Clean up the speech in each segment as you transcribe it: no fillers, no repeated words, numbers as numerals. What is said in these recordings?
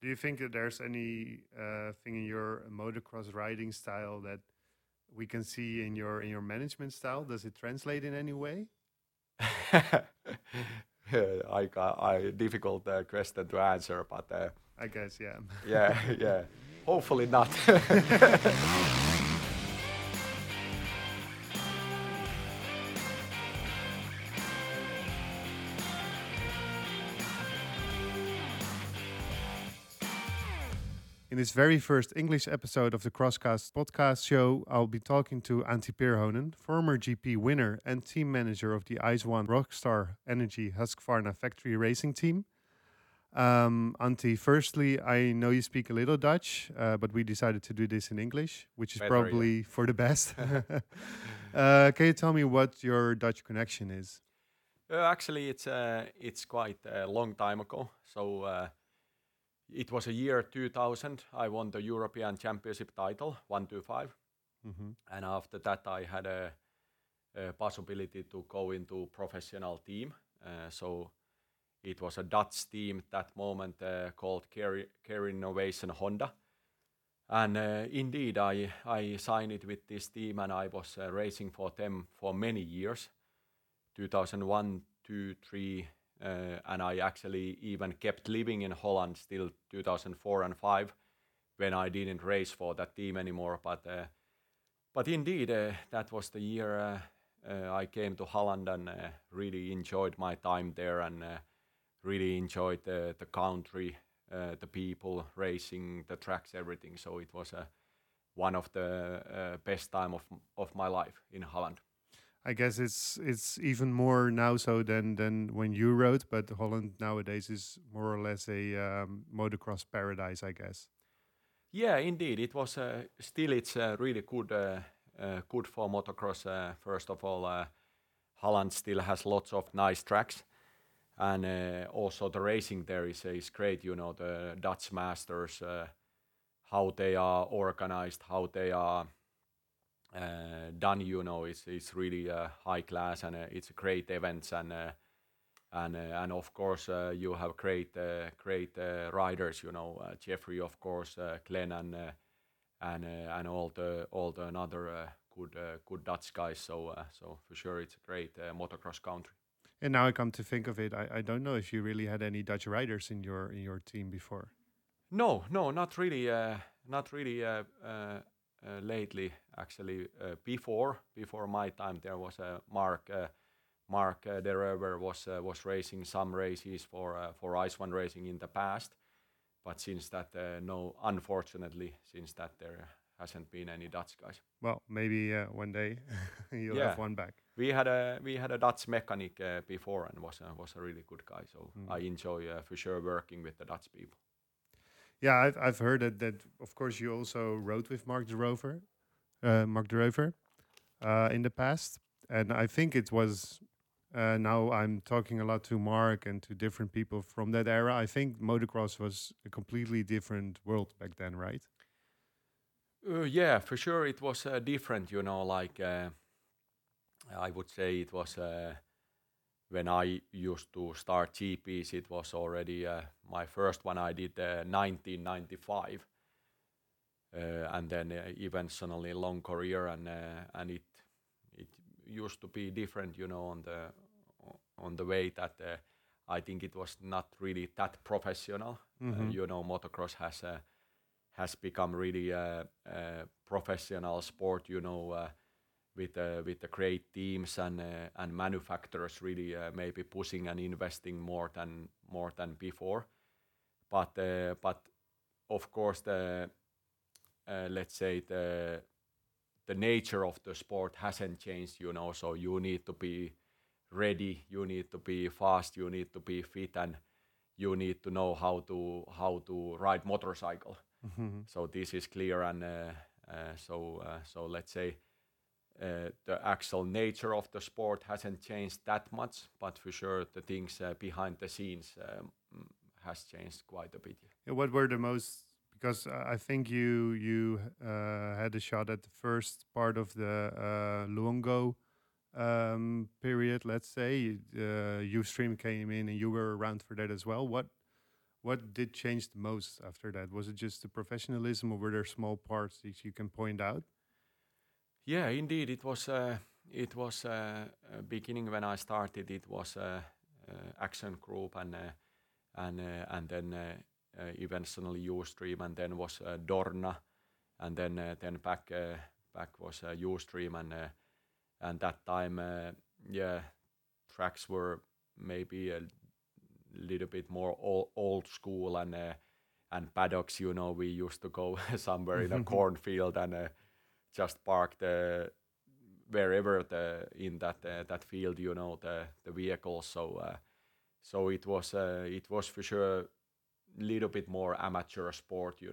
Do you think that there's any thing in your motocross riding style that we can see in your management style? Does it translate in any way? I difficult question to answer, but I guess, yeah. yeah, yeah. Hopefully not. In this very first English episode of the Crosscast podcast show, I'll be talking to Antti Pirhonen, former GP winner and team manager of the Ice One Rockstar Energy Husqvarna factory racing team. Antti, firstly, I know you speak a little Dutch, but we decided to do this in English, which is Better, yeah. probably for the best. Can you tell me what your Dutch connection is? Actually, it's quite a long time ago. So it was a year 2000. I won the European Championship title, 125, Mm-hmm. and after that, I had a possibility to go into professional team. So it was a Dutch team at that moment called Care Innovation Honda. And indeed, I signed it with this team, and I was racing for them for many years, 2001, 2, 3, and I actually even kept living in Holland till 2004 and 5 when I didn't race for that team anymore. But indeed, that was the year I came to Holland and really enjoyed my time there and really enjoyed the country, the people, racing, the tracks, everything. So it was one of the best time of my life in Holland. I guess it's even more now so than when you rode, but Holland nowadays is more or less a motocross paradise, I guess. Yeah, indeed, it was still it's really good good for motocross. First of all, Holland still has lots of nice tracks, and also the racing there is great. You know, the Dutch Masters, how they are organized, how they are done. You know, it's really high class, and it's a great events, and of course you have great riders. You know, Jeffrey, of course, Glenn, and all the another good Dutch guys. So for sure, it's a great motocross country. And now I come to think of it, I don't know if you really had any Dutch riders in your team before. No, no, not really. Not really. Lately, actually, before my time, there was a Mark. Mark Derever was racing some races for Ice One Racing in the past, but since that, no, unfortunately, since that there hasn't been any Dutch guys. Well, maybe one day you'll Yeah, have one back. we had a Dutch mechanic before and was a really good guy. So Mm. I enjoy for sure working with the Dutch people. Yeah, I've heard that of course you also rode with Mark de Rover, in the past, and I think it was. Now I'm talking a lot to Mark and to different people from that era. I think motocross was a completely different world back then, right? Yeah, for sure it was different. You know, like I would say it was. When I used to start GPs, it was already my first one I did 1995, and then eventually long career, and it used to be different, you know, on the way that I think it was not really that professional. Mm-hmm. You know, motocross has become really professional sport. You know. With the great teams and manufacturers really maybe pushing and investing more than before. But of course the let's say the nature of the sport hasn't changed. You know, so you need to be ready, you need to be fast, you need to be fit, and you need to know how to ride motorcycle. Mm-hmm. So this is clear, and so let's say the actual nature of the sport hasn't changed that much, but for sure the things behind the scenes has changed quite a bit. Yeah, what were the most? Because I think you had a shot at the first part of the Luongo period. Let's say Ustream came in, and you were around for that as well. What did change the most after that? Was it just the professionalism, or were there small parts that you can point out? Yeah, indeed, it was beginning when I started. It was Action Group and then eventually Ustream, and then was Dorna, and then back was Ustream, and that time yeah, tracks were maybe a little bit more old school, and paddocks. We used to go somewhere in a cornfield and just park wherever in that field, the vehicles. So it was for sure little bit more amateur sport,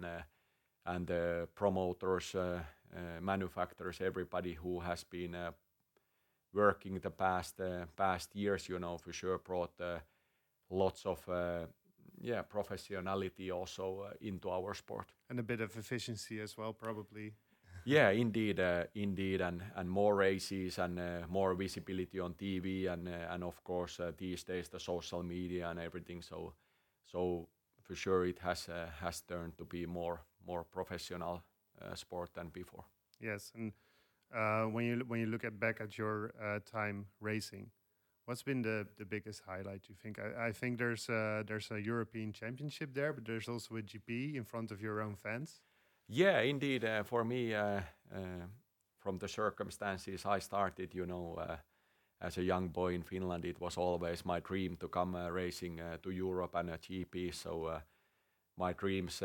and promoters, manufacturers, everybody who has been working the past years, for sure brought lots of professionality also into our sport. And a bit of efficiency as well, probably. Yeah, indeed, and more races and more visibility on TV, and of course these days the social media and everything. So for sure it has turned to be more professional sport than before. Yes, and when you look back at your time racing, what's been the biggest highlight? You think? I think there's a European Championship there, but there's also a GP in front of your own fans. Yeah, indeed. For me, from the circumstances I started, as a young boy in Finland, it was always my dream to come racing to Europe and a GP. So my dreams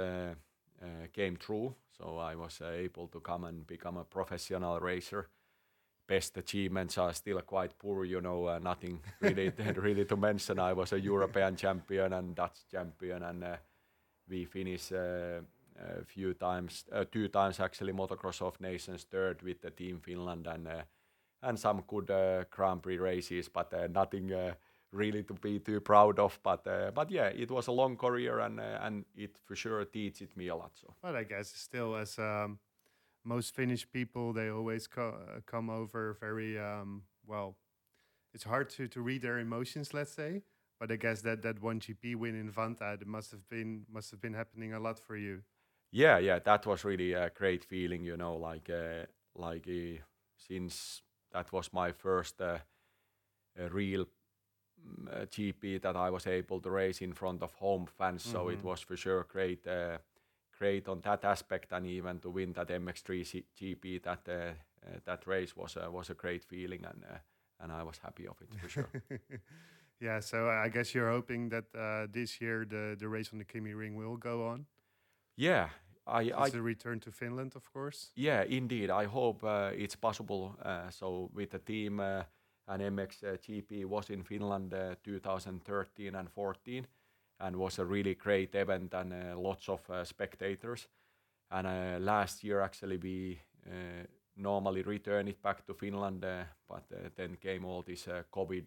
came true. So I was able to come and become a professional racer. Best achievements are still quite poor, nothing really, really to mention. I was a European champion and Dutch champion, and we finished a few times, 2 times actually, Motocross of Nations third with the Team Finland, and some good Grand Prix races, but nothing really to be too proud of. But yeah, it was a long career, and it for sure teaches me a lot. So. But I guess still, as most Finnish people, they always come over very well. It's hard to read their emotions, let's say. But I guess that one GP win in Vantaa, it must have been happening a lot for you. Yeah, that was really a great feeling, since that was my first real GP that I was able to race in front of home fans. So it was for sure great on that aspect, and even to win that MX3 GP, that race was a great feeling, and I was happy of it for sure. Yeah, so I guess you're hoping that this year the race on the Kimi Ring will go on. Yeah, It's a return to Finland, of course. yeah, indeed. I hope it's possible. So with the team, and MX GP was in Finland 2013 and 14, and was a really great event, and lots of spectators. And last year actually we normally return it back to Finland, but then came all this COVID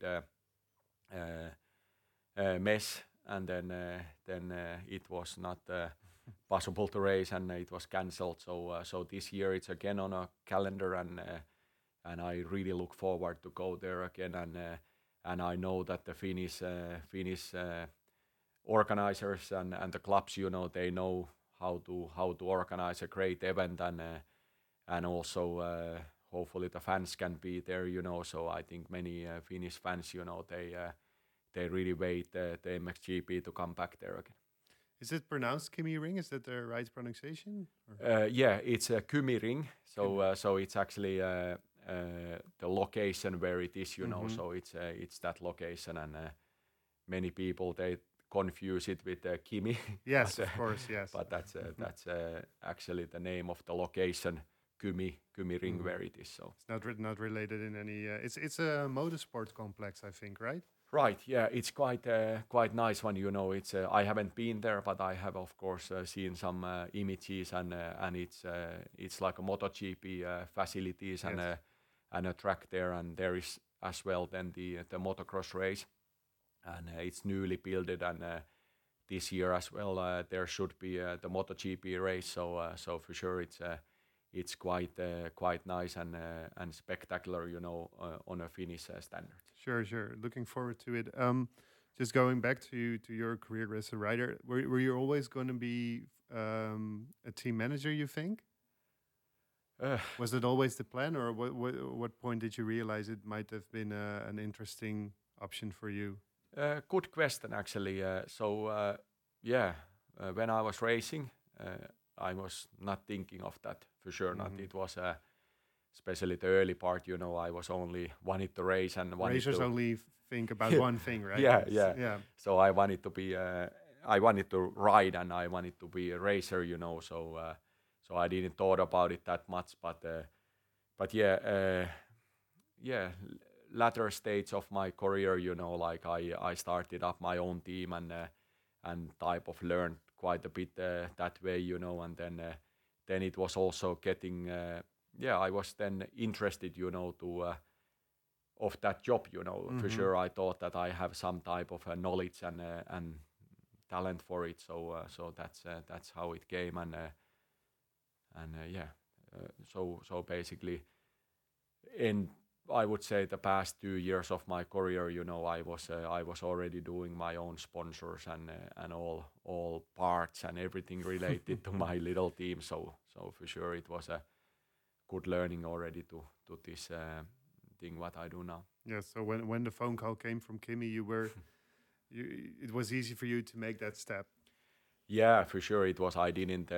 mess, and then it was not possible to race, and it was cancelled. So this year it's again on a calendar, and I really look forward to go there again, and I know that the Finnish organizers and the clubs, they know how to organize a great event, and also hopefully the fans can be there, So I think many Finnish fans, they really wait the MXGP to come back there again. Is it pronounced Kimi Ring? Is that the right pronunciation? Yeah, it's a Kymi Ring, so it's actually the location where it is, So it's that location, and many people they confuse it with Kimi. Yes, of course, yes. But that's actually the name of the location, Kymi Ring, where it is. So It's not related in any. It's a motorsport complex, I think, right? right, yeah, it's quite nice one. It's I haven't been there, but I have of course seen some images, and it's like a MotoGP facilities, and Yes. and a track there, and there is as well then the motocross race, and it's newly built, and this year as well there should be the MotoGP race. So for sure it's quite nice and spectacular, on a Finnish standard. Sure. Looking forward to it. Just going back to your career as a rider, were you always going to be a team manager? You think? Uh, Was it always the plan, or what point did you realize it might have been an interesting option for you? Good question, actually. Yeah, when I was racing, I was not thinking of that for sure. Not Hmm. it was especially the early part. I was only wanted to race and wanted Racers to. only think about one thing, right? Yeah, It's yeah. yeah, So I wanted to be. I wanted to ride and I wanted to be a racer. So I didn't thought about it that much. But yeah. Yeah, latter stage of my career, like I started up my own team and type of learned quite a bit that way, and then it was also getting yeah, I was then interested, to of that job, for hmm, sure. I thought that I have some type of knowledge and talent for it, so that's how it came, and yeah, so basically in I would say the past 2 years of my career, I was already doing my own sponsors and all parts and everything related to my little team. So for sure it was a good learning already to this thing what I do now. yeah. So when the phone call came from Kimmy, it was easy for you to make that step. Yeah, for sure it was. I didn't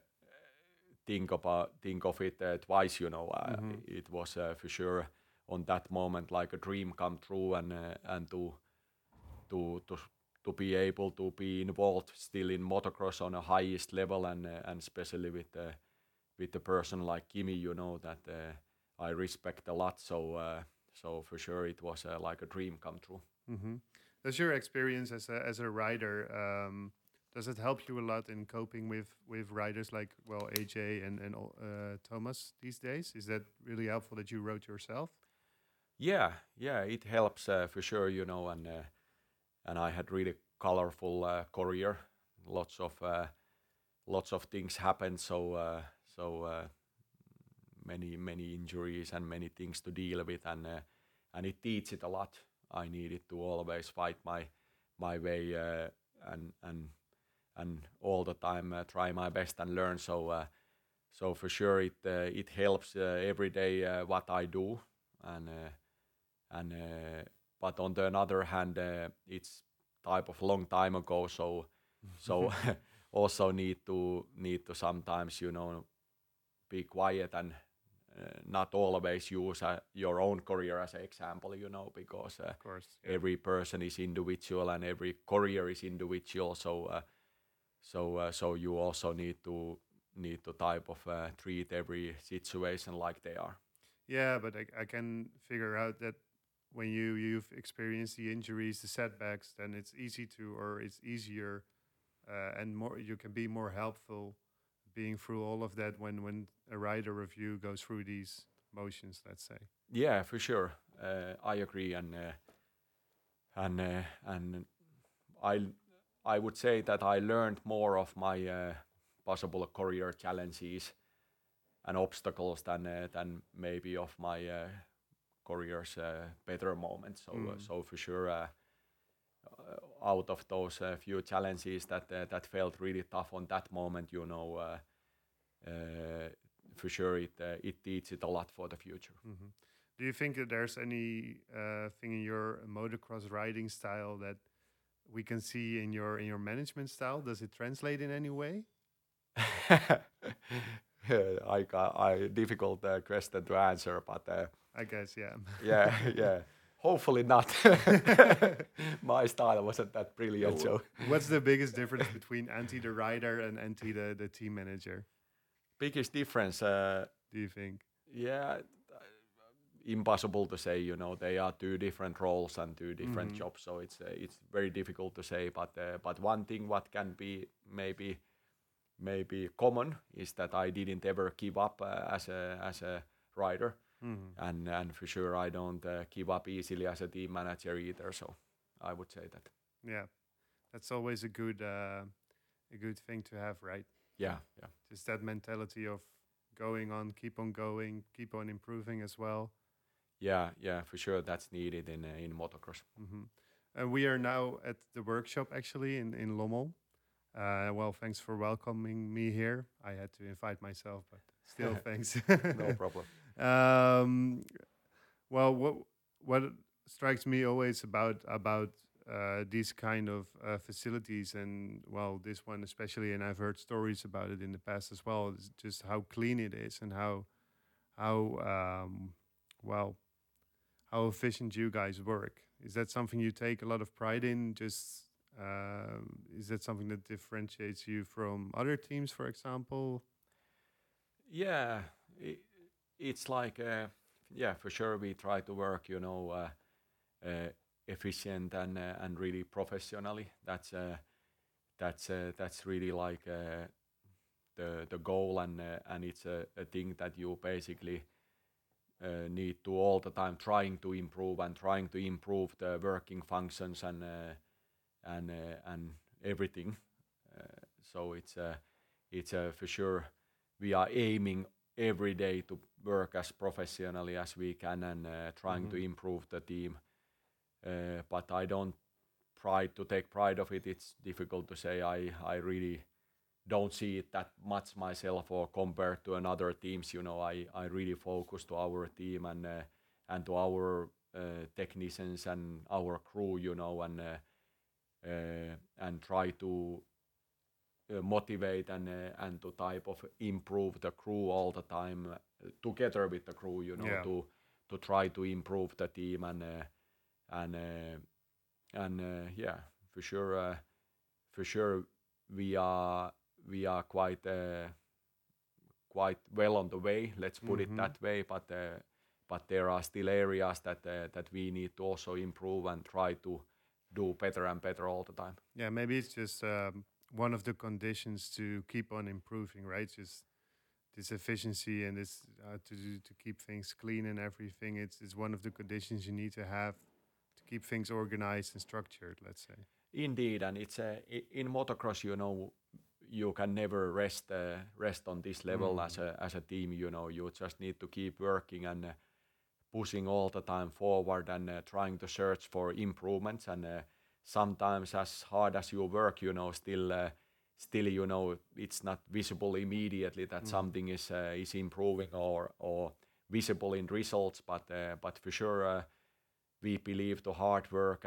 think of it twice. Hmm. It was for sure on that moment like a dream come true and to to to be able to be involved still in motocross on a highest level and especially with the person like Kimi, that I respect a lot. So for sure it was like a dream come true. Hmm. Does your experience as a rider does it help you a lot in coping with riders like AJ and Thomas these days? Is that really helpful that you wrote yourself? Yeah, it helps for sure, and I had really colorful career. Lots of lots of things happened. So many injuries and many things to deal with, and it teaches it a lot. I needed to always fight my way and and all the time try my best and learn. So for sure it helps every day what I do, and and but on the other hand, it's type of long time ago. So also need to sometimes be quiet and not always use your own career as an example, because Of course, yeah. every person is individual and every career is individual. So you also need to type of treat every situation like they are. Yeah, but I can figure out that when you've experienced the injuries, the setbacks, then it's easier and more you can be more helpful being through all of that when a rider review goes through these motions, let's say. Yeah, for sure. I agree, and I I would say that I learned more of my possible career challenges and obstacles than maybe of my career's better moments. Mm. So for sure, out of those few challenges that felt really tough on that moment, uh, for sure it teaches it a lot for the future. Hmm. Do you think that there's any thing in your motocross riding style that we can see in your management style? Does it translate in any way? I difficult question to answer, but I guess, yeah. yeah, yeah. Hopefully not. My style wasn't that brilliant, so What's the biggest difference between Antti the rider and Antti the team manager? biggest difference. Do you think? Yeah, impossible to say. They are two different roles and two different Hmm. jobs, so it's very difficult to say. But one thing what can be maybe common is that I didn't ever give up as a rider, Hmm. and for sure I don't give up easily as a team manager either. So I would say that. Yeah, that's always a good thing to have, right? Yeah, yeah, Just that mentality of going, keep on improving as well. yeah, yeah. For sure, that's needed in motocross. Hmm. We are now at the workshop actually in Lommel. Well, thanks for welcoming me here. I had to invite myself, but still, thanks. No problem. um, well, what strikes me always about these kind of facilities, and well, this one especially, and I've heard stories about it in the past as well, is just how clean it is and how well how efficient you guys work. Is that something you take a lot of pride in? Just is that something that differentiates you from other teams, for example? Yeah, I it's like yeah, for sure we try to work, uh, efficient and really professionally. That's really like the goal, and it's a thing that you basically need to all the time trying to improve and trying to improve the working functions and everything. So it's for sure we are aiming every day to work as professionally as we can and trying to Hmm. improve the team. But I don't pride to take pride of it. It's difficult to say. I really don't see it that much myself or compared to another teams. I really focus to our team and to our technicians and our crew. And try to motivate and to type of improve the crew all the time together with the crew. Yeah. To try to improve the team and uh, and yeah, for sure. For sure, we are we are quite well on the way. Let's put it Hmm. that way. But there are still areas that we need to also improve and try to do better and better all the time. Yeah, maybe it's just one of the conditions to keep on improving, right? Just this efficiency and this to keep things clean and everything. It's one of the conditions you need to have to keep things organized and structured. Let's say. Indeed, and it's in motocross. You can never rest on this level Mm. as a team. You just need to keep working and pushing all the time forward and trying to search for improvements. And sometimes, as hard as you work, still it's not visible immediately that Mm. something is improving or visible in results. But for sure, we believe the hard work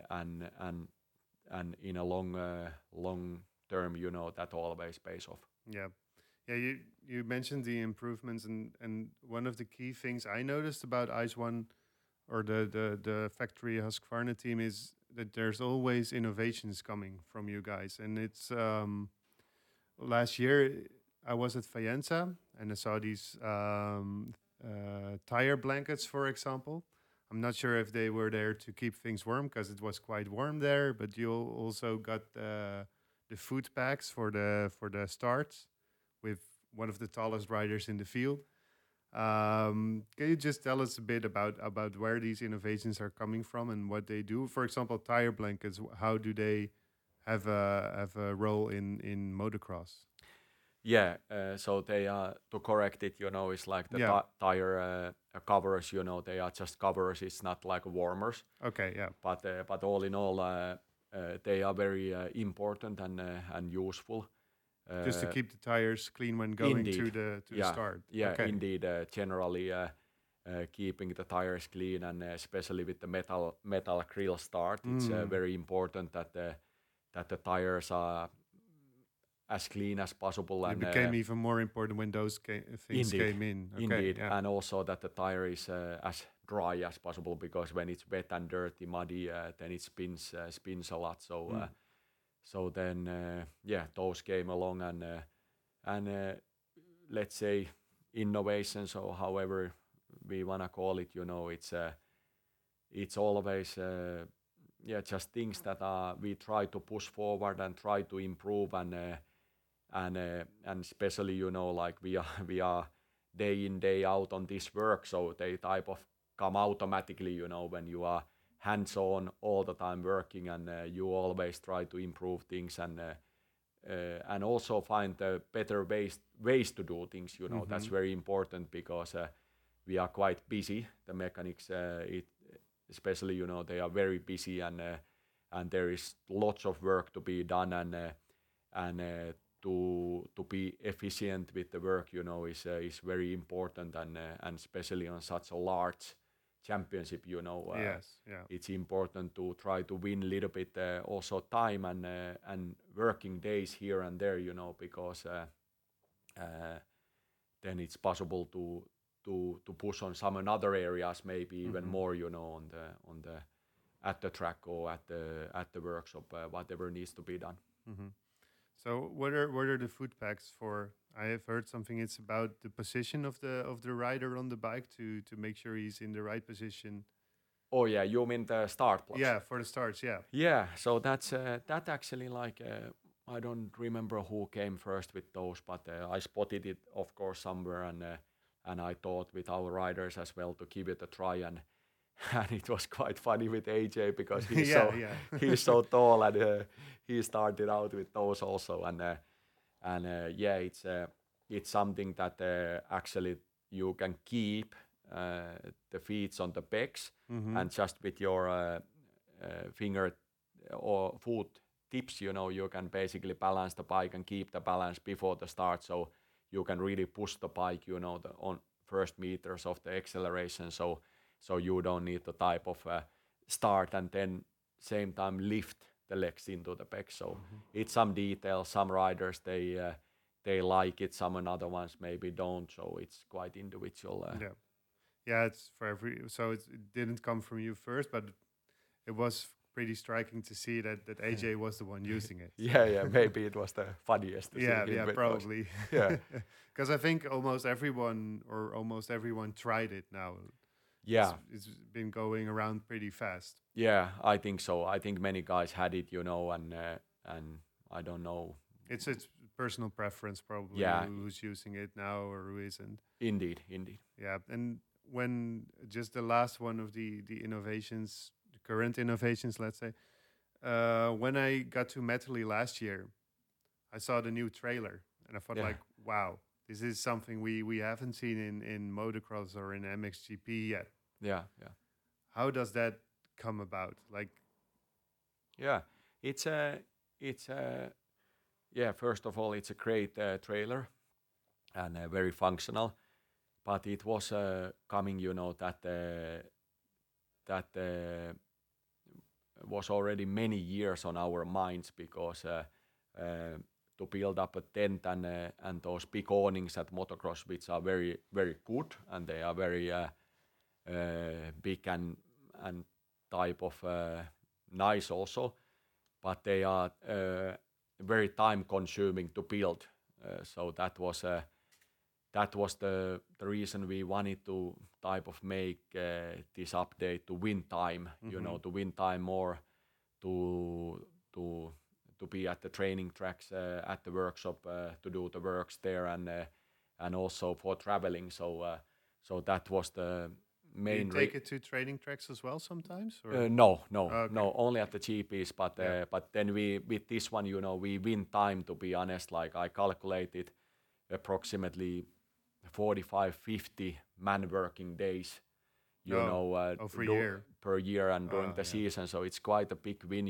and in a long term, that always pays off. Yeah. Yeah, you mentioned the improvements, and one of the key things I noticed about Ice One or the factory Husqvarna team is that there's always innovations coming from you guys. And it's last year I was at Faenza and I saw these tire blankets, for example. I'm not sure if they were there to keep things warm because it was quite warm there, but you also got the food packs for the starts with one of the tallest riders in the field. Can you just tell us a bit about where these innovations are coming from and what they do? For example, tire blankets. How do they have a role in motocross? Yeah, so they are to correct it. It's like the Yeah. tire covers. They are just covers. It's not like warmers. Okay. Yeah. But all in all, they are very important and useful. Just to Uh, keep the tires clean when going Indeed, to the yeah, start. yeah, Okay. indeed. Generally, keeping the tires clean and especially with the metal grill start, it's Mm. very important that the tires are as clean as possible It and became even more important when those things indeed, came in. Okay. indeed, Yeah. and also that the tire is as dry as possible because when it's wet and dirty, muddy, then it spins a lot. Mm. So then yeah, those came along and let's say innovations or however we wanna call it. It's always yeah, just things that we try to push forward and try to improve and especially like we are day in day out on this work, so they type of come automatically when you are hands on all the time working and you always try to improve things and also find better ways to do things. That's Mm-hmm. very important because we are quite busy. The mechanics, especially, they are very busy and there is lots of work to be done, and to be efficient with the work, is very important, and especially on such a large championship, Yes. Yeah. it's important to try to win a little bit also time and working days here and there, because uh, then it's possible to push on some another areas, maybe even more, on the at the track or at the workshop, whatever needs to be done. Hmm. So what are the food packs for? I have heard something. It's about the position of the rider on the bike to make sure he's in the right position. Oh yeah, you mean the start blocks? Yeah, for the starts. Yeah. Yeah, so that's that actually, like, I don't remember who came first with those, but I spotted it, of course, somewhere, and I thought with our riders as well to give it a try, and and it was quite funny with AJ because Yeah. Yeah. he's so tall, and he started out with those also, and yeah, it's something that actually you can keep the feet on the pegs, Hmm. and just with your finger or foot tips, you can basically balance the bike and keep the balance before the start, so you can really push the bike, the on first meters of the acceleration, so you don't need the type of start and then same time lift the legs into the back. So it's some details. Some riders they like it, some another ones maybe don't. So it's quite individual. Yeah. Yeah. It's for every. So it didn't come from you first, but it was pretty striking to see that AJ was the one using it. So. Yeah, maybe it was the funniest to see Yeah, him yeah, with those. probably. Yeah, Because I think almost everyone tried it now. yeah, It's been going around pretty fast. yeah. I think so. I think many guys had it, and I don't know. It's personal preference probably Yeah, who's using it now or who isn't. indeed, indeed. Yeah, and when just the last one of the innovations, the current innovations, let's say, when I got to Metally last year, I saw the new trailer and I thought Yeah, like, wow, this is something we haven't seen in motocross or in MXGP yet. yeah, yeah. How does that come about? Like, Yeah, it's a, it's a, yeah. First of all, it's a great trailer and very functional. But it was coming, that was already many years on our minds because to build up a tent and those big awnings at motocross, which are very very good and they are very big and type of nice also, but they are very time consuming to build. So that was the reason we wanted to type of make this update to win time, to win time more, to to to be at the training tracks, at the workshop, to do the works there, and also for traveling. So that was the do you main. take it to training tracks as well sometimes? Or No, no, okay, no, only at the GPs. But yeah, but then we with this one, we win time. To be honest, like I calculated, approximately 45, 50 man working days, no, over a year. per year and during the Yeah, season. So it's quite a big win,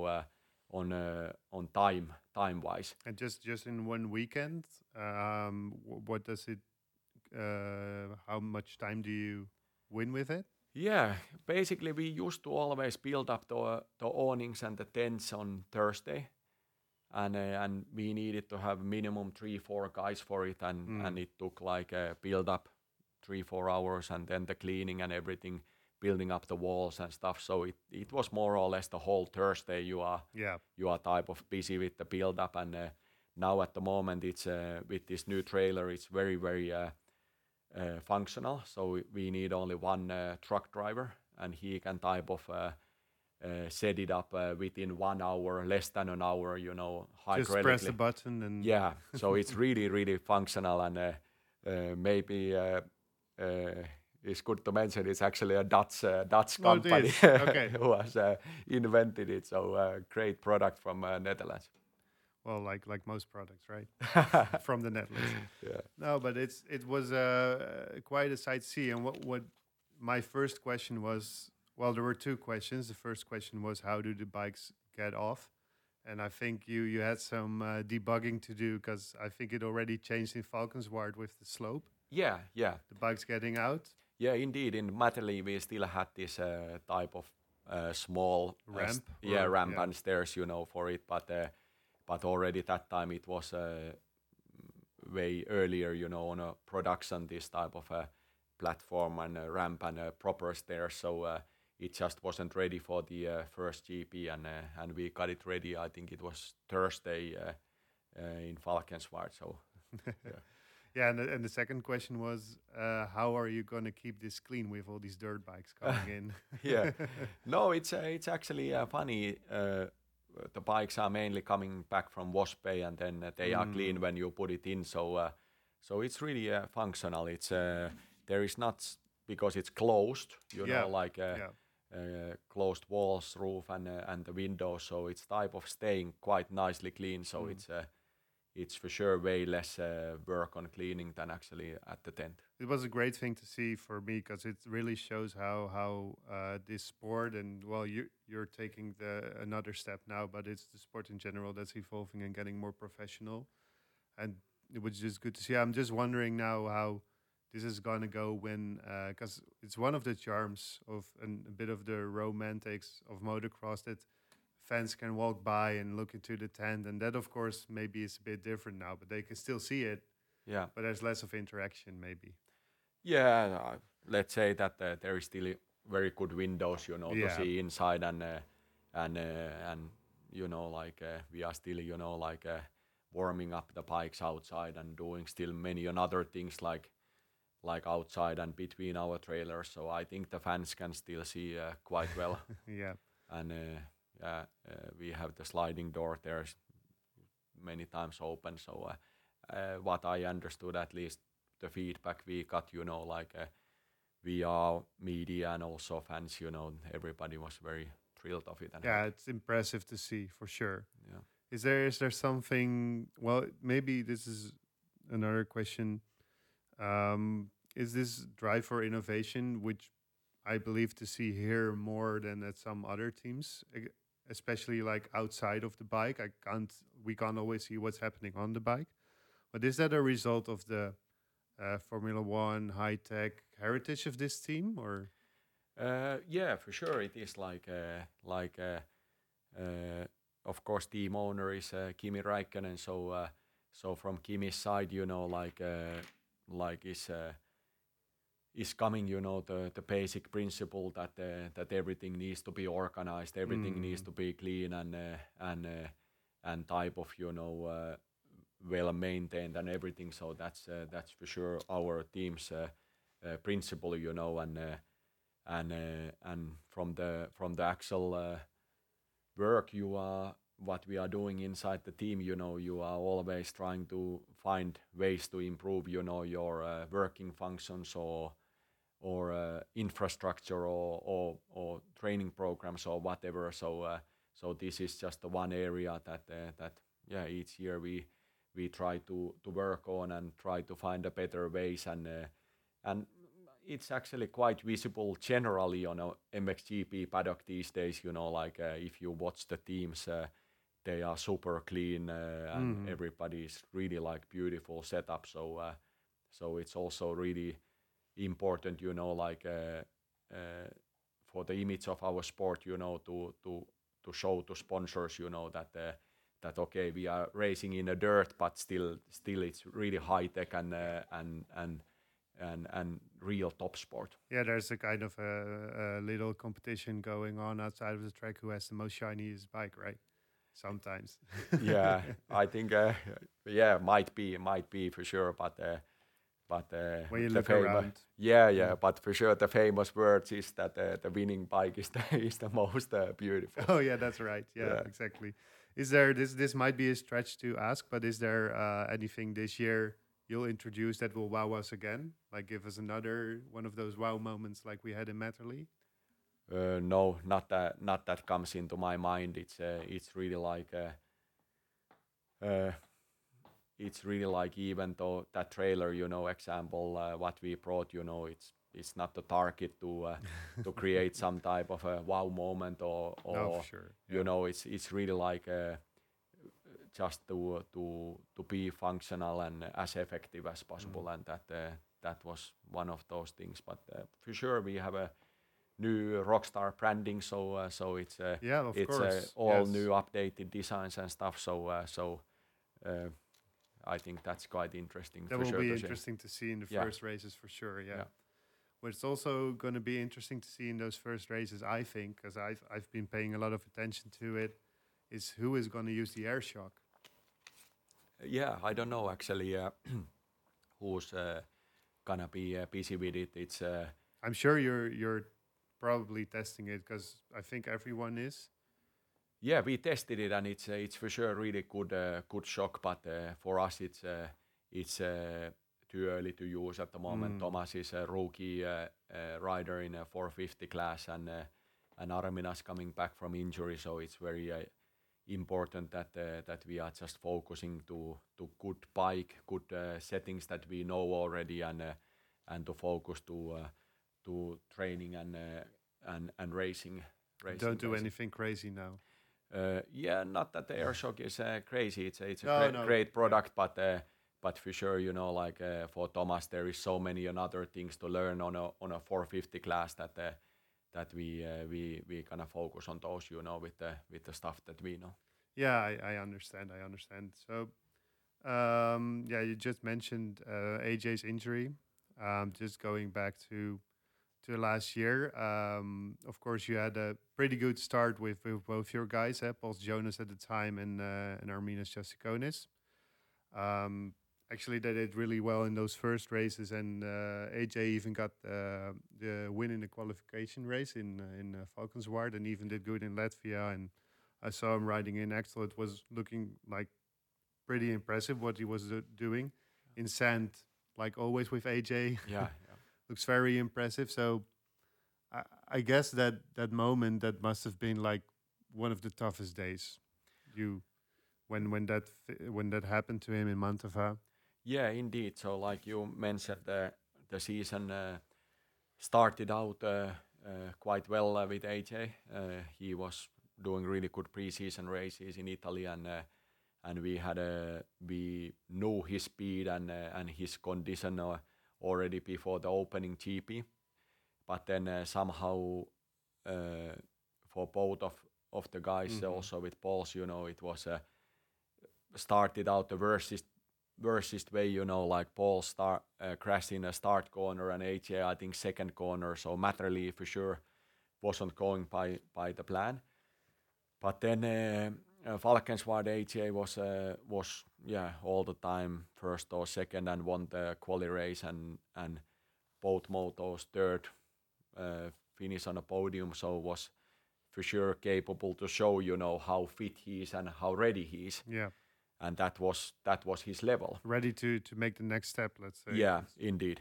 on time wise. and just in one weekend, what does it? How much time do you win with it? Yeah, basically we used to always build up the awnings and the tents on Thursday, and we needed to have minimum 3-4 guys for it, and it took like a build up 3-4 hours, and then the cleaning and everything, building up the walls and stuff. So it was more or less the whole Thursday Yeah. you are type of busy with the build up, and now at the moment it's with this new trailer it's very very functional. So we need only one truck driver, and he can type of set it up within 1 hour, less than an hour, Just press the hydraulically. button and Yeah, so it's really, really functional, and maybe it's good to mention it's actually a Dutch oh, it company is. Okay. who has invented it. So great product from Netherlands. Well, like most products, right? From the Netherlands. Yeah, No, but it was quite a sight to see. And what my first question was Well, there were two questions. The first question was, how do the bikes get off? And I think you had some debugging to do because I think it already changed in Falkenswaard with the slope, Yeah, yeah, the bikes getting out, yeah. Indeed, in Matterley we still had this type of small ramp, yeah, or ramp yeah. and stairs, for it, but already that time it was way earlier, on a production, this type of a platform and a ramp and a proper stairs. So it just wasn't ready for the first GP, and we got it ready. I think it was Thursday in Falkenswaard. So yeah. Yeah, and the second question was, how are you going to keep this clean with all these dirt bikes coming in? Yeah, no, it's actually funny. The bikes are mainly coming back from wash bay, and then they are clean when you put it in. So it's really functional. It's there is not because it's closed, Yeah, like yeah. closed walls, roof, and the windows. So it's type of staying quite nicely clean. So it's for sure way less work on cleaning than actually at the tent. It was a great thing to see for me because it really shows how this sport, and well, you're taking the another step now, but it's the sport in general that's evolving and getting more professional, and it was just good to see. I'm just wondering now how this is gonna go when, because it's one of the charms of and a bit of the romantics of motocross that fans can walk by and look into the tent, and that of course maybe is a bit different now, but they can still see it, Yeah. but there's less of interaction maybe. Yeah, let's say that there is still very good windows, to Yeah. see inside, and like we are still, like warming up the bikes outside and doing still many another things like outside and between our trailers. So I think the fans can still see quite well, Yeah. and yeah, we have the sliding door there many times open. So what I understood, at least the feedback we got, like we are media and also fans, everybody was very thrilled of it and Yeah, happy. it's impressive to see for sure. Yeah. Is there something, well, maybe this is another question. Is this drive for innovation, which I believe to see here more than at some other teams, especially like outside of the bike? We can't always see what's happening on the bike. But is that a result of the Formula One high tech heritage of this team, or? Yeah, for sure. It is uh, of course, team owner is Kimi Räikkönen. So from Kimi's side, like is coming, the basic principle that everything needs to be organized, everything needs Mm, to be clean and type of, well maintained and everything. So that's for sure our team's principle, and from the actual work what we are doing inside the team, you are always trying to find ways to improve, your working functions or infrastructure or training programs or whatever. So this is just the one area that yeah, each year we try to work on and try to find a better ways, and it's actually quite visible generally on a MXGP paddock these days. Like if you watch the teams, they are super clean, and mm, everybody is really like beautiful setup. So it's also really important, like for the image of our sport, to show to sponsors, that okay, we are racing in the dirt, but still it's really high tech and real top sport. yeah, there's a kind of a little competition going on outside of the track who has the most shiniest bike, right? Sometimes. Yeah, I think yeah, might be for sure, but When you the look famous, around. yeah, Mm. but for sure the famous words is that the winning bike is the is the most beautiful. Oh yeah, that's right. Yeah, Yeah. exactly. Is there this might be a stretch to ask, but is there anything this year you'll introduce that will wow us again? Like give us another one of those wow moments like we had in Matterley? No, not that comes into my mind. It's really like uh, it's really like, even though that trailer, example, what we brought, it's not the target to create some type of a wow moment, or No, for sure. it's really like just to be functional and as effective as possible, and that was one of those things. But for sure, we have a new Rockstar branding, so Yeah, of it's course. all Yes. new updated designs and stuff. So I think that's quite interesting That for will sure be to see. interesting to see in the Yeah, first races for sure. Yeah. yeah, What's also going to be interesting to see in those first races, I think, because I've been paying a lot of attention to it, is who is going to use the air shock. yeah. I don't know actually who's gonna be busy with it. It's I'm sure you're probably testing it because I think everyone is. yeah, we tested it, and it's for sure really good shock. But for us, it's too early to use at the moment. Thomas is a rookie rider in a 450 class, and Arminas coming back from injury, so it's very important that we are just focusing to good bike, good settings that we know already, and to focus to training and racing. Don't do Basically. anything crazy now. Yeah, not that the AirShock is crazy. It's a No. great Yeah. product, but for sure, like for Thomas, there is so many other things to learn on a 450 class that we kind of focus on those, with the stuff that we know. Yeah, I understand. I understand. So, yeah, you just mentioned AJ's injury. Just going back to last year. Of course, you had a pretty good start with both your guys, Pauls Jonas at the time and Arminas Jasikonis. Actually, they did really well in those first races, and AJ even got the win in the qualification race in Valkenswaard, and even did good in Latvia. And I saw him riding in Axel. It was looking like pretty impressive what he was doing in sand, like always with AJ. Yeah, Looks very impressive. So I guess that moment that must have been like one of the toughest days. You when that happened to him in Mantova. yeah, indeed. So like you mentioned, the season started out quite well with AJ. He was doing really good preseason races in Italy, and we knew his speed and his condition already before the opening GP. But then somehow for both of the guys, also with Pauls, it was started out the worstest way, like Paul crashed in a start corner, and AJ I think second corner, so Matterley for sure wasn't going by the plan. But then Valkenswaard AJ was all the time first or second, and won the quali race, and both motos third, finish on a podium, so was for sure capable to show how fit he is and how ready he is. Yeah, And that was his level. ready to make the next step. Let's say. Yeah, indeed.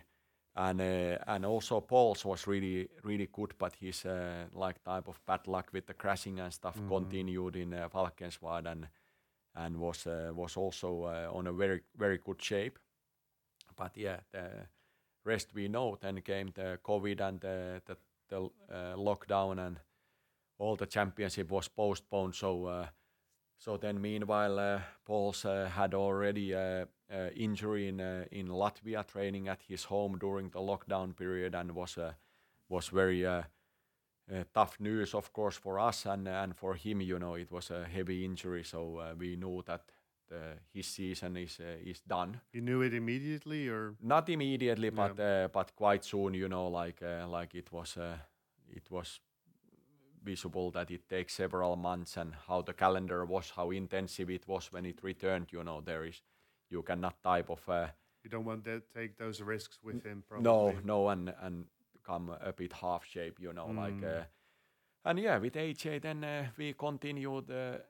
And also Pauls was really really good, but his like type of bad luck with the crashing and stuff continued in Valkenswaard, and was also on a very very good shape. But yeah, the rest we know. Then came the COVID and the lockdown, and all the championship was postponed. So then meanwhile, Pauls had already injury in Latvia, training at his home during the lockdown period, and was very tough news, of course, for us and for him. It was a heavy injury, so we knew that his season is done. You knew it immediately, or Not immediately, but quite soon. Like it was visible that it takes several months, and how the calendar was, how intensive it was when it returned. You cannot type of you don't want to take those risks with him. Probably. no, and come a bit half shape. Like and yeah, with AJ then we continued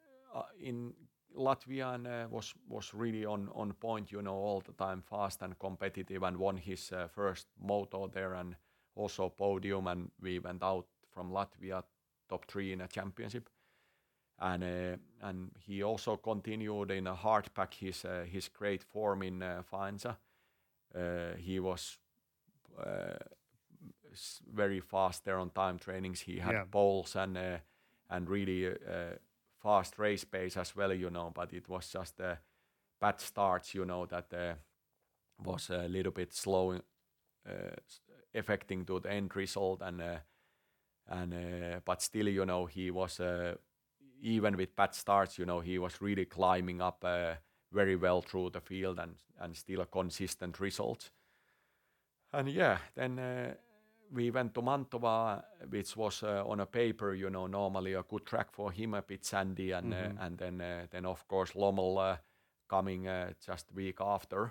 in Latvia, and was really on point. All the time fast and competitive, and won his first moto there, and also podium, and we went out from Latvia top 3 in a championship. and he also continued in a hard pack his great form in Faenza. He was uh, very fast there on time trainings. He had Yeah. poles and really fast race pace as well, But it was just bad starts, that was a little bit slow, affecting to the end result. And but still, he was even with bad starts, he was really climbing up very well through the field and still a consistent result. And yeah, then we went to Mantova, which was on a paper, normally a good track for him, a bit sandy, Hmm. and then of course Lommel coming just week after,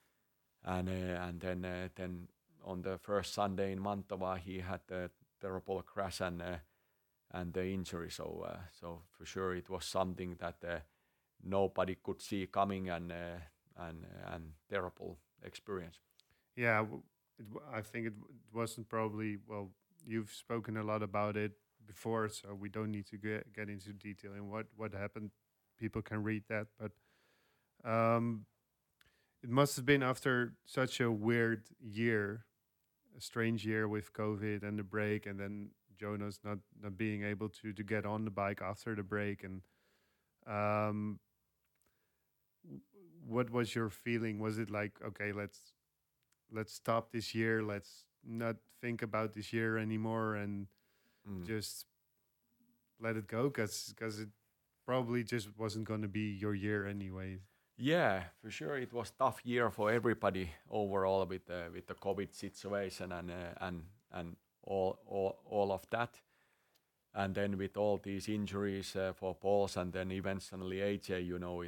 and then on the first Sunday in Mantova he had a terrible crash and the injury. So for sure it was something that nobody could see coming and terrible experience. Yeah, I think it wasn't probably, well, you've spoken a lot about it before, so we don't need to get into detail in what happened. People can read that, but um, it must have been after such a weird year, a strange year with COVID and the break, and then Jonas not being able to get on the bike after the break. And um, w- what was your feeling? Was it like, okay, let's stop this year, let's not think about this year anymore, and Mm. just let it go, because it probably just wasn't going to be your year anyway. Yeah, for sure. It was tough year for everybody overall with the COVID situation and all of that. And then with all these injuries for Pauls and then eventually AJ,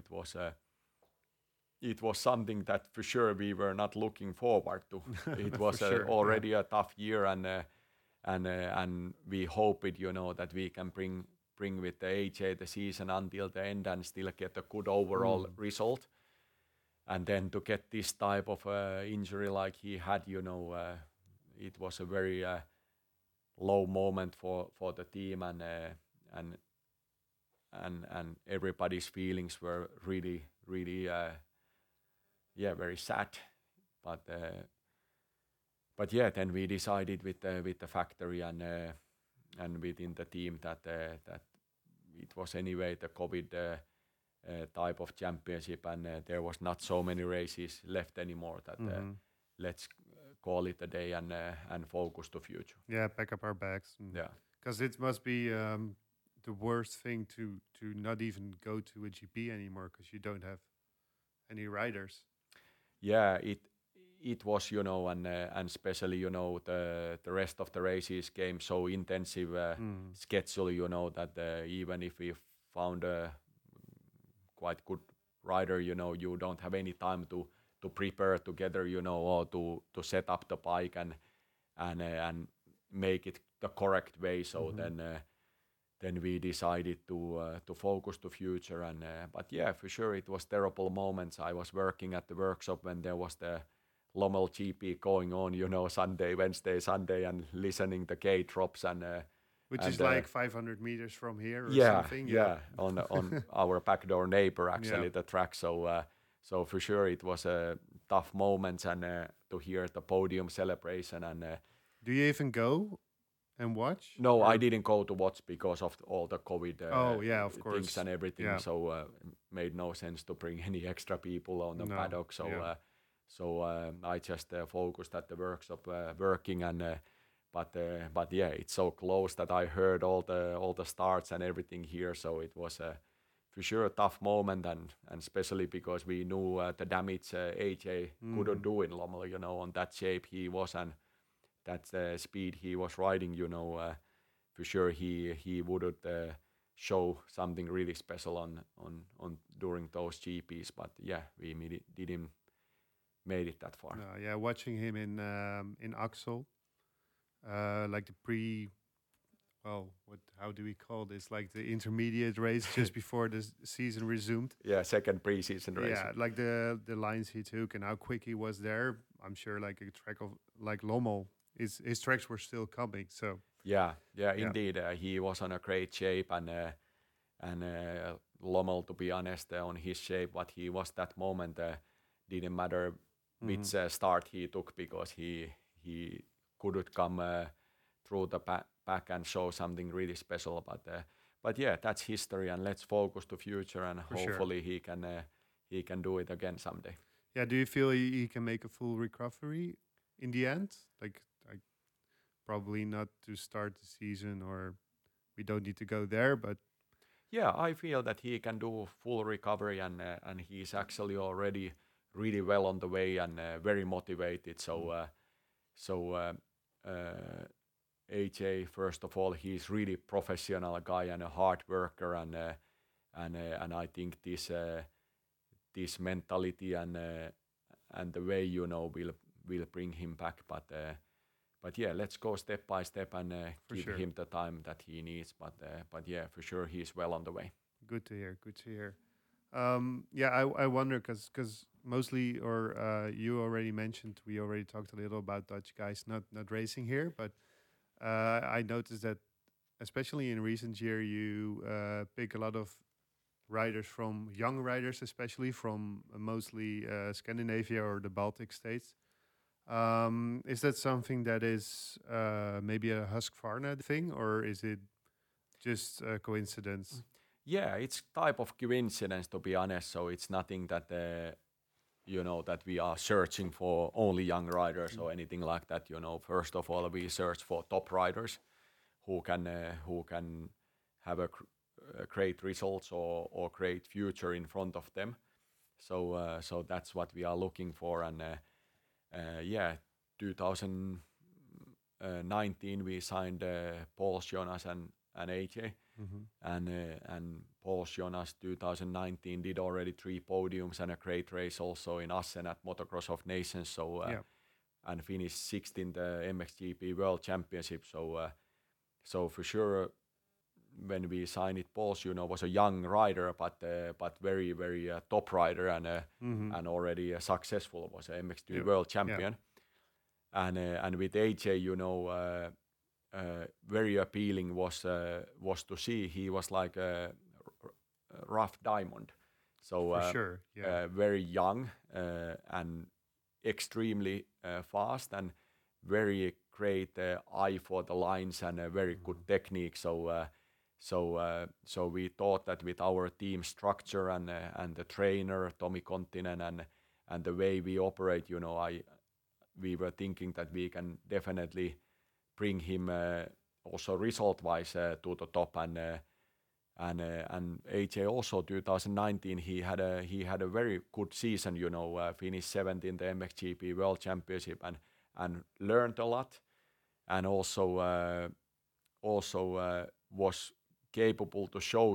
it was something that for sure we were not looking forward to. It For was sure, yeah. already a tough year, and we hoped, that we can bring with the AJ the season until the end and still get a good overall Mm. result. And then to get this type of injury like he had, it was a very low moment for the team, and and everybody's feelings were really yeah, very sad. But uh, but yeah, then we decided with the factory and within the team that it was anyway the COVID type of championship, and there was not so many races left anymore. That Hmm. let's call it a day and focus to future. Yeah, pack up our bags, Yeah, because it must be the worst thing to not even go to a GP anymore because you don't have any riders. yeah. It was, and especially, the rest of the races came so intensive Mm. schedule, that even if we found a quite good rider, you don't have any time to prepare together, or to set up the bike and make it the correct way. So Hmm. then we decided to focus to future. And but yeah, for sure it was terrible moments. I was working at the workshop when there was the Lommel GP going on, Sunday, Wednesday, Sunday, and listening the gate drops Which is and like 500 meters from here or yeah, something. Yeah. yeah, on our backdoor neighbor Yeah. actually the track. So for sure it was a tough moment, and to hear the podium celebration. And Do you even go and watch no, I or? didn't go to watch because of all the COVID Oh yeah, of things course. and everything. Yeah. So made no sense to bring any extra people on the No. paddock. Yeah. So I just focused at the workshop working. And but yeah, it's so close that I heard all the starts and everything here. So it was for sure a tough moment, and especially because we knew the damage AJ couldn't Hmm. do in Lommel, on that shape he was, and that speed he was riding, for sure he wouldn't show something really special on during those GPs. But yeah, we didn't made it that far. No, yeah, watching him in Axel, like the pre, well, what, how do we call this? Like the intermediate race just before the season resumed. Yeah, second preseason racing. Yeah, like the lines he took and how quick he was there. I'm sure like a track of like Lommel, his tracks were still coming. So Yeah, yeah. indeed. He was on a great shape, Lommel, to be honest, on his shape, what he was that moment, didn't matter which start he took, because he couldn't come through the back and show something really special. But yeah, that's history, and let's focus to future, and For sure. hopefully he can do it again someday. Yeah, do you feel he can make a full recovery in the end? Like probably not to start the season, or we don't need to go there, but Yeah, I feel that he can do full recovery, and he's actually already really well on the way, and very motivated. AJ, first of all, he's really professional guy and a hard worker, and I think this mentality and the way will bring him back. But yeah, let's go step by step and give sure. him the time that he needs. But yeah, for sure he's well on the way. good to hear. Good to hear. Yeah, I wonder because mostly, or you already mentioned, we already talked a little about Dutch guys not racing here, but I noticed that especially in recent year you pick a lot of riders from young riders, especially from mostly Scandinavia or the Baltic states. Is that something that is maybe a Husqvarna thing, or is it just a coincidence? Yeah, it's type of coincidence, to be honest. So it's nothing that that we are searching for only young riders or anything like that. First of all, we search for top riders who can have a great results or great future in front of them. So that's what we are looking for. And yeah, 2019 we signed Paul Jonas and AJ. And Paul Jonas 2019 did already 3 podiums and a great race also in Assen at Motocross of Nations. And finished 6th in the MXGP World Championship. So for sure, when we signed it, Paul was a young rider, but very very top rider, and already successful, was a MXGP World Champion. And with AJ, very appealing was to see he was like a rough diamond. So For sure, yeah. very young and extremely fast, and very great eye for the lines, and a very good technique. So we thought that with our team structure and the trainer Tommy Kontinen and the way we operate, we were thinking that we can definitely bring him also result-wise to the top. And AJ also 2019 he had a very good season. Finished 7th in the MXGP World Championship and learned a lot, and also was capable to show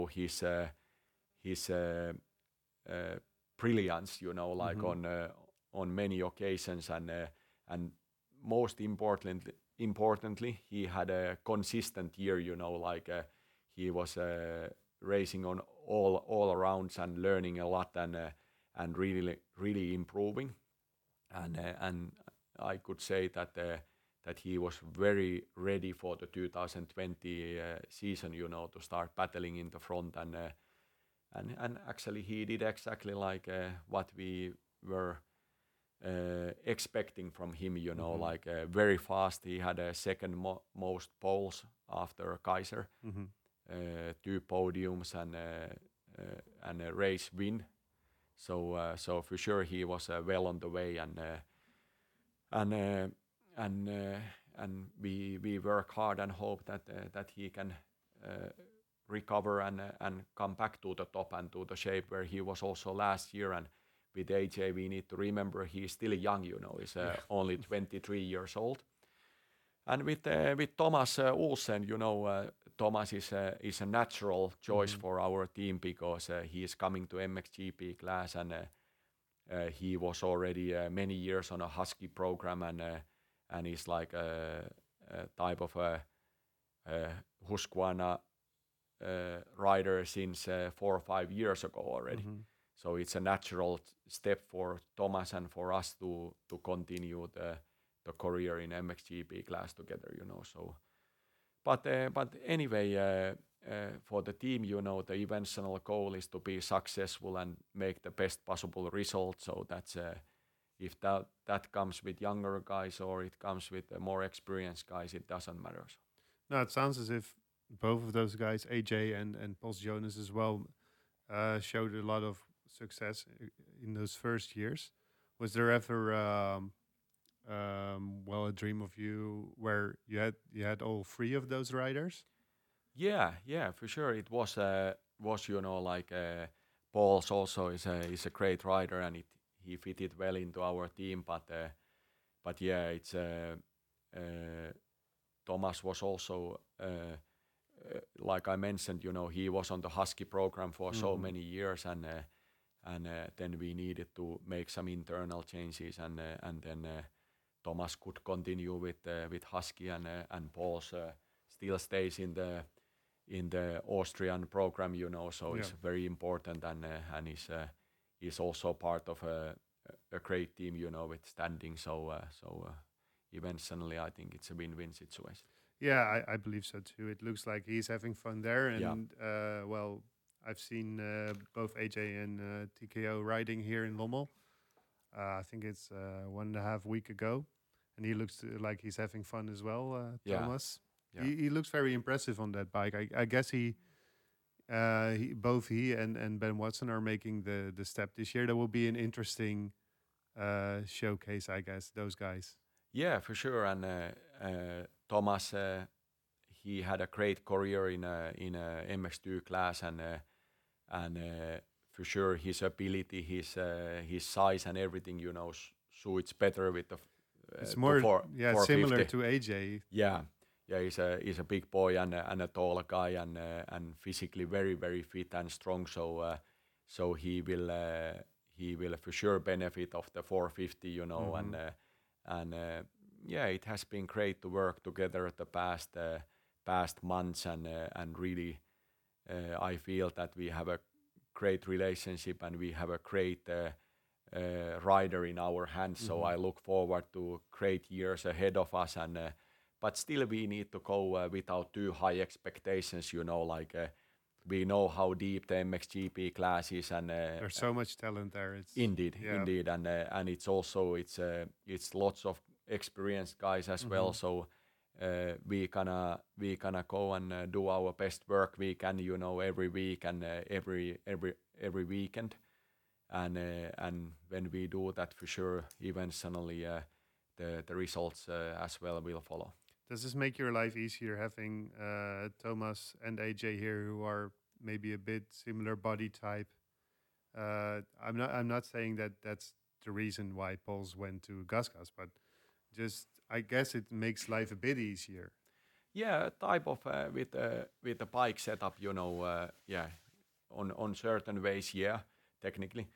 his brilliance, like on many occasions, and most importantly, he had a consistent year. He was racing on all rounds and learning a lot, and really improving. And I could say that he was very ready for the 2020 season, to start battling in the front, and actually he did exactly like what we were expecting from him. Like very fast. He had a second most poles after Kaiser, 2 podiums and a race win. So for sure he was well on the way, and we work hard and hope that he can recover and come back to the top and to the shape where he was also last year. And with AJ, we need to remember he's still young. He's only 23 years old. And with Thomas Olsen, Thomas is a natural choice for our team, because he is coming to MXGP class, and he was already many years on a Husky program, and he's like a type of a Husqvarna rider since 4 or 5 years ago already. So it's a natural step for Thomas and for us to continue the career in MXGP class together. So, but anyway, for the team, the eventual goal is to be successful and make the best possible result. So that's if that comes with younger guys or it comes with more experienced guys, it doesn't matter. So, No, it sounds as if both of those guys, AJ and Pols Jonas as well, showed a lot of success in those first years. Was there ever a dream of you where you had all three of those riders? yeah, for sure. It was like Pauls also is a great rider and he fitted well into our team. But yeah, it's Thomas was also like I mentioned. He was on the Husky program for so many years and then we needed to make some internal changes and then Thomas could continue with Husky and Pauls still stays in the Austrian program, so Yeah. it's very important and he's also part of a great team, with standing. So eventually, I think it's a win-win situation. Yeah, I believe so too. It looks like he's having fun there, Yeah. and well, I've seen both AJ and TKO riding here in Lommel. I think it's 1.5 week ago, and he looks like he's having fun as well. Yeah. Thomas, Yeah. he looks very impressive on that bike. I guess both he and Ben Watson are making the step this year. That will be an interesting showcase, I guess. Those guys. Yeah, for sure. And Thomas, he had a great career in a MX2 class, and for sure his ability, his size, and everything, suits better with the It's more, yeah, similar 450. to AJ. Yeah, he's a big boy and a tall guy and physically very very fit and strong. So he will for sure benefit of the 450, and yeah, it has been great to work together the past months and really I feel that we have a great relationship and we have a great rider in our hands. So I look forward to great years ahead of us and. But still, we need to go without too high expectations. We know how deep the MXGP class is, and There's so much talent there. It's indeed, yeah. and it's also it's lots of experienced guys as well. So we gonna go and do our best work we can, every week and every weekend, and when we do that, for sure, eventually the results as well will follow. Does this make your life easier having Thomas and AJ here, who are maybe a bit similar body type? I'm not saying that that's the reason why Pauls went to Gasgas, but just I guess it makes life a bit easier. Yeah, type of with the bike setup, yeah, on certain ways, yeah, technically,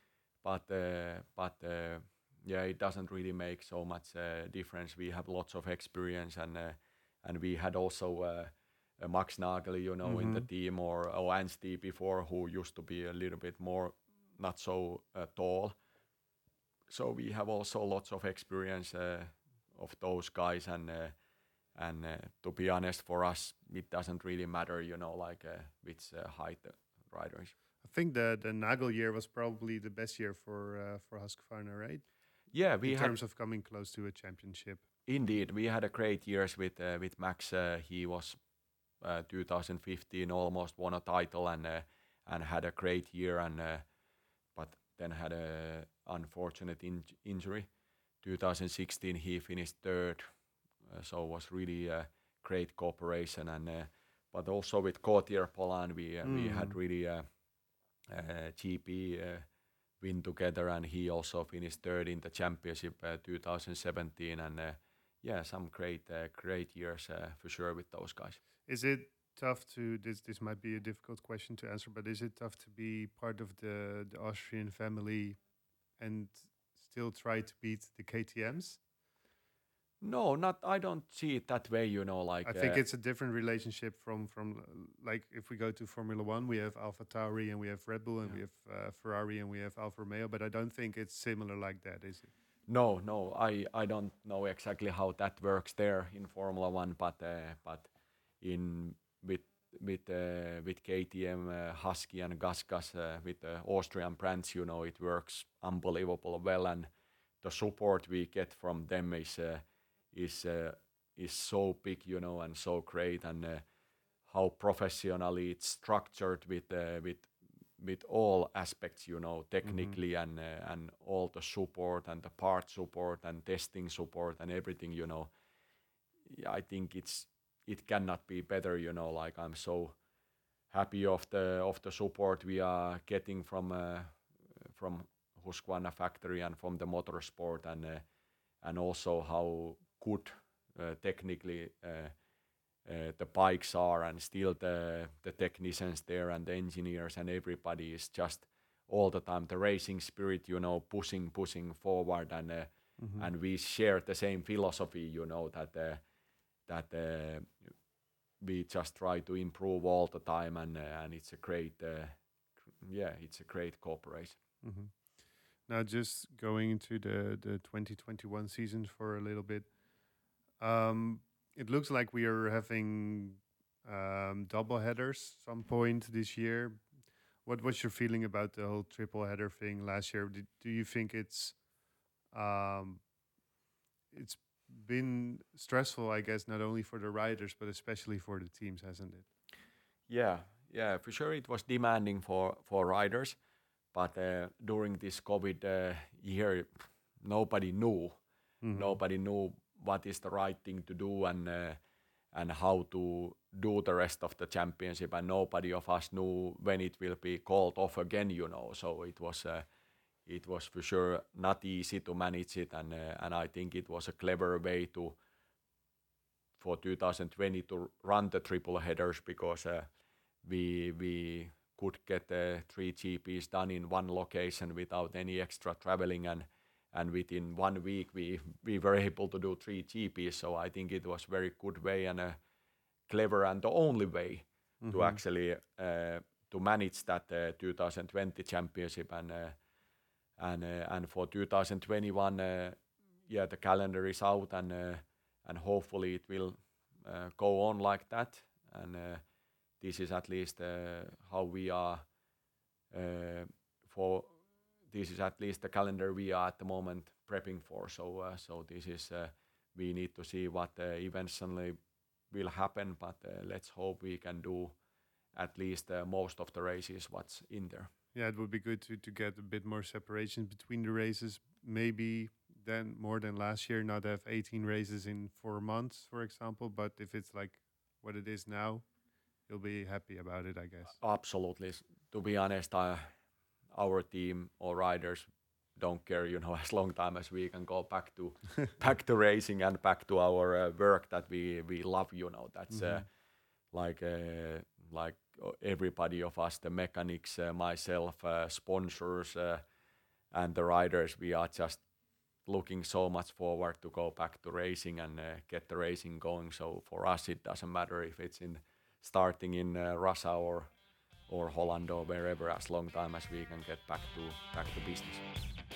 but yeah, it doesn't really make so much difference. We have lots of experience, and we had also Max Nagel, in the team, or Anstey before, who used to be a little bit more not so tall. So we have also lots of experience of those guys, and to be honest, for us, it doesn't really matter, which height the rider is. I think the Nagel year was probably the best year for Husqvarna, right? Yeah, we In had terms of coming close to a championship. indeed we had a great years with Max. He was 2015 almost won a title and had a great year and but then had a unfortunate injury. 2016 he finished third, so it was really a great cooperation and but also with Gautier Polan we had really GP win together, and he also finished third in the championship 2017 and yeah, some great years for sure with those guys. Is it tough to this might be a difficult question to answer, but is it tough to be part of the Austrian family and still try to beat the KTMs? No, not. I don't see it that way. I think it's a different relationship from like if we go to Formula One, we have Alpha Tauri and we have Red Bull and we have Ferrari and we have Alfa Romeo, but I don't think it's similar like that, is it? No. I don't know exactly how that works there in Formula One, but in with with KTM, Husky and GasGas, with the Austrian brands, it works unbelievable well, and the support we get from them is so big, and so great, and how professionally it's structured with all aspects, technically, and all the support and the part support and testing support and everything, I think it cannot be better, like I'm so happy of the support we are getting from Husqvarna factory and from the motorsport, and also how good technically the bikes are, and still the technicians there and the engineers and everybody is just all the time the racing spirit, pushing forward, and we share the same philosophy, that we just try to improve all the time, and it's a great it's a great cooperation. Now, just going into the 2021 season for a little bit, it looks like we are having double headers some point this year. What's your feeling about the whole triple header thing last year? Do you think it's been stressful, I guess, not only for the riders but especially for the teams, hasn't it? Yeah, for sure it was demanding for riders, but during this COVID year, nobody knew. Nobody knew what is the right thing to do, and how to do the rest of the championship, and nobody of us knew when it will be called off again, So it was for sure not easy to manage it, and I think it was a clever way for 2020 to run the triple headers, because we could get 3 GPs done in one location without any extra traveling, and within 1 week we were able to do 3 GPs. So I think it was very good way and a clever and the only way to actually to manage that 2020 championship, and for 2021, the calendar is out, and hopefully it will go on like that, and this is at least how we are for. This is at least the calendar we are at the moment prepping for. So this is we need to see what eventually will happen, but let's hope we can do at least most of the races what's in there. Yeah, it would be good to get a bit more separation between the races, maybe then more than last year, not have 18 races in 4 months, for example. But if it's like what it is now, you'll be happy about it, I guess. Absolutely. To be honest, our team or riders don't care, as long time as we can go back to racing and back to our work that we love, That's like everybody of us, the mechanics, myself, sponsors, and the riders, we are just looking so much forward to go back to racing and get the racing going. So for us, it doesn't matter if it's starting in Russia or Holland or wherever, as long time as we can get back to business.